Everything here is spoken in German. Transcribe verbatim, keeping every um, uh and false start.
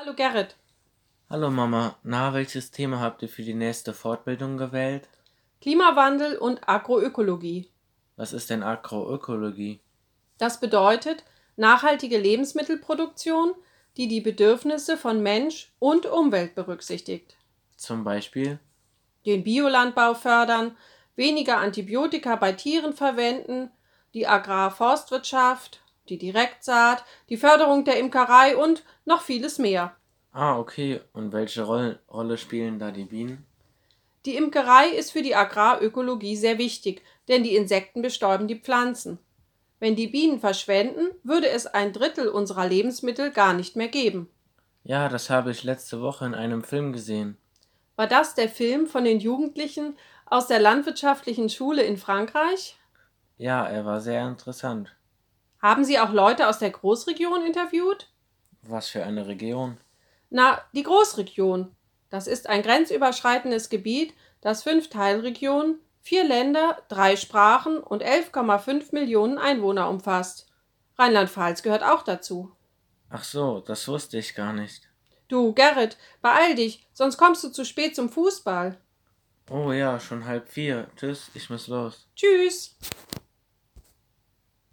Hallo Gerrit. Hallo Mama, na, welches Thema habt ihr für die nächste Fortbildung gewählt? Klimawandel und Agroökologie. Was ist denn Agroökologie? Das bedeutet nachhaltige Lebensmittelproduktion, die die Bedürfnisse von Mensch und Umwelt berücksichtigt. Zum Beispiel? Den Biolandbau fördern, weniger Antibiotika bei Tieren verwenden, die Agrarforstwirtschaft, die Direktsaat, die Förderung der Imkerei und noch vieles mehr. Ah, okay. Und welche Roll Rolle spielen da die Bienen? Die Imkerei ist für die Agrarökologie sehr wichtig, denn die Insekten bestäuben die Pflanzen. Wenn die Bienen verschwänden, würde es ein Drittel unserer Lebensmittel gar nicht mehr geben. Ja, das habe ich letzte Woche in einem Film gesehen. War das der Film von den Jugendlichen aus der landwirtschaftlichen Schule in Frankreich? Ja, er war sehr interessant. Haben Sie auch Leute aus der Großregion interviewt? Was für eine Region? Na, die Großregion. Das ist ein grenzüberschreitendes Gebiet, das fünf Teilregionen, vier Länder, drei Sprachen und elf Komma fünf Millionen Einwohner umfasst. Rheinland-Pfalz gehört auch dazu. Ach so, das wusste ich gar nicht. Du, Gerrit, beeil dich, sonst kommst du zu spät zum Fußball. Oh ja, schon halb vier. Tschüss, ich muss los. Tschüss.